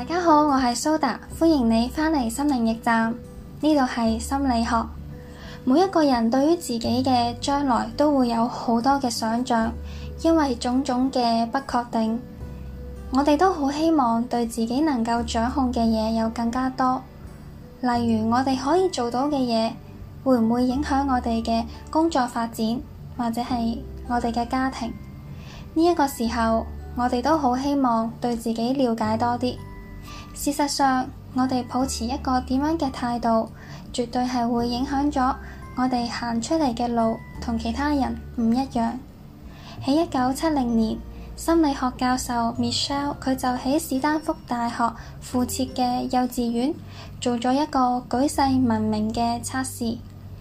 大家好，我係蘇達，歡迎你返嚟心靈驛站。呢度係心理學。每一個人對於自己嘅將來都會有好多嘅想象，因為種種嘅不確定，我哋都好希望對自己能夠掌控嘅嘢有更加多。例如我哋可以做到嘅嘢，會唔會影響我哋嘅工作發展，或者係我哋嘅家庭？呢一個時候，我哋都好希望對自己了解多啲。事實上，我哋抱持一個點樣嘅態度，絕對係會影響咗我哋行出嚟嘅路同其他人唔一樣。喺1970年，心理學教授 Michelle 佢就喺史丹福大學附設嘅幼稚園做咗一個舉世聞名嘅測試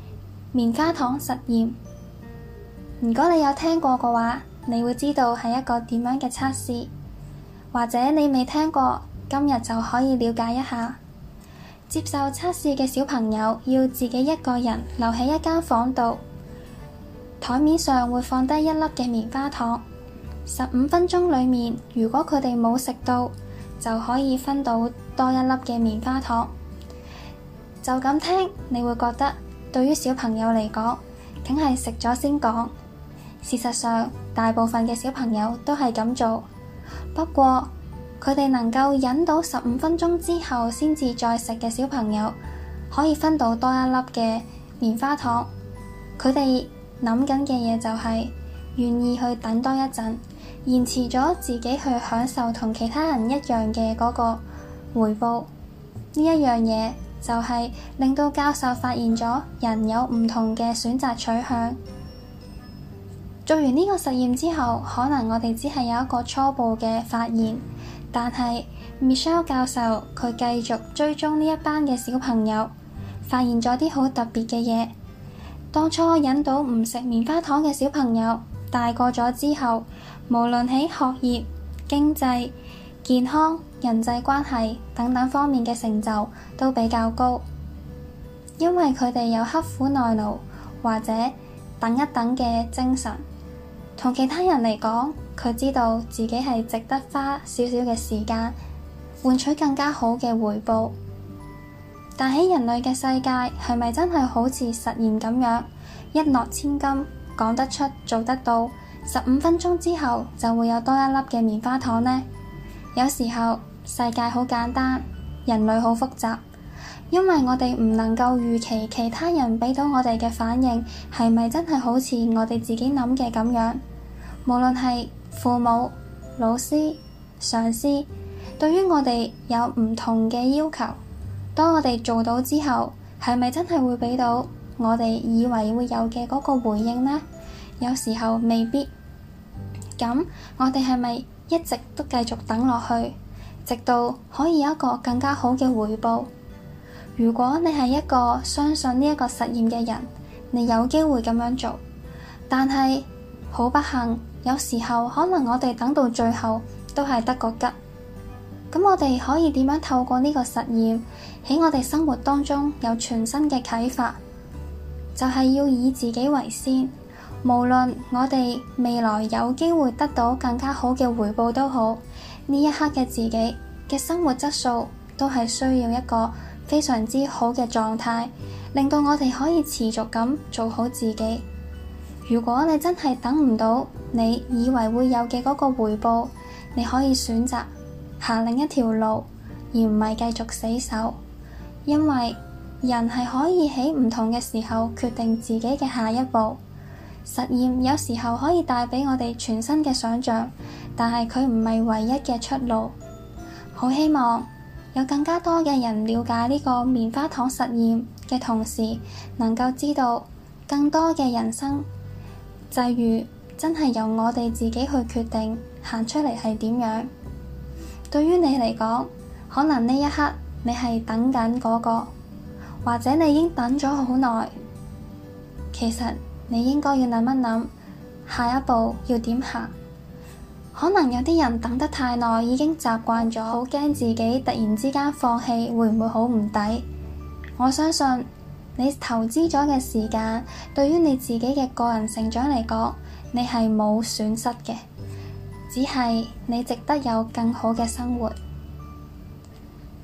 ——棉花糖實驗。如果你有聽過嘅話，你會知道係一個點樣嘅測試，或者你未聽過，今日就可以了解一下。接受測試嘅小朋友要自己一個人留喺一間房度，台面上會放低一粒嘅棉花糖。15分鐘裏面，如果佢哋冇食到，就可以分到多一粒嘅棉花糖。就咁聽，你會覺得對於小朋友嚟講，梗係食咗先講。事實上，大部分嘅小朋友都係咁做。不過，佢哋能夠忍到15分鐘之後先至再食嘅小朋友，可以分到多一粒嘅棉花糖。佢哋諗緊嘅嘢就係願意去等多一陣，延遲咗自己去享受同其他人一樣嘅嗰個回報。呢一樣嘢就係令到教授發現咗人有唔同嘅選擇取向。做完呢個實驗之後，可能我哋只係有一個初步嘅發現，但係 Michelle 教授佢繼續追蹤呢一班嘅小朋友，發現咗啲好特別嘅嘢。當初引導唔食棉花糖嘅小朋友，大個咗之後，無論喺學業、經濟、健康、人際關係等等方面嘅成就都比較高，因為佢哋有刻苦耐勞或者等一等嘅精神。同其他人嚟講，佢知道自己係值得花少少嘅時間換取更加好嘅回報。但喺人類嘅世界，係咪真係好似實驗咁樣一諾千金，講得出做得到？15分鐘之後就會有多一粒嘅棉花糖呢？有時候世界好簡單，人類好複雜，因為我哋唔能夠預期其他人畀到我哋嘅反應係咪真係好似我哋自己諗嘅咁樣。無論係父母、老師、上司，對於我哋有唔同嘅要求，當我哋做到之後，係咪真係會畀到我哋以為會有嘅嗰個回應呢？有時候未必。咁我哋係咪一直都繼續等落去，直到可以有一個更加好嘅回報？如果你係一個相信呢一個實驗嘅人，你有機會咁樣做。但係好不幸，有時候可能我哋等到最後都係得個吉。咁我哋可以點樣透過呢個實驗喺我哋生活當中有全新嘅啟發？就係要以自己為先，無論我哋未來有機會得到更加好嘅回報都好，呢一刻嘅自己嘅生活質素都係需要一個非常之好嘅狀態，令到我哋可以持續咁做好自己。如果你真係等唔到你以為會有嘅嗰個回報，你可以選擇行另一條路，而唔係繼續死守。因為人係可以喺唔同嘅時候決定自己嘅下一步。實驗有時候可以帶畀我哋全新嘅想象，但係佢唔係唯一嘅出路。好希望有更加多嘅人了解呢個棉花糖實驗嘅同時，能夠知道更多嘅人生際遇真係由我哋自己去決定行出嚟係點樣。對於你嚟講，可能呢一刻你係等緊嗰個，或者你已經等咗好耐。其實你應該要諗一諗下一步要點行。可能有啲人等得太耐，已經習慣咗，好驚自己突然之間放棄，會唔會好唔抵？我相信你投資咗嘅時間，對於你自己嘅個人成長嚟講，你係冇損失嘅，只係你值得有更好嘅生活。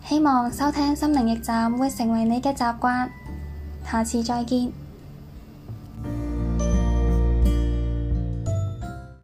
希望收聽心靈驛站會成為你嘅習慣。下次再見。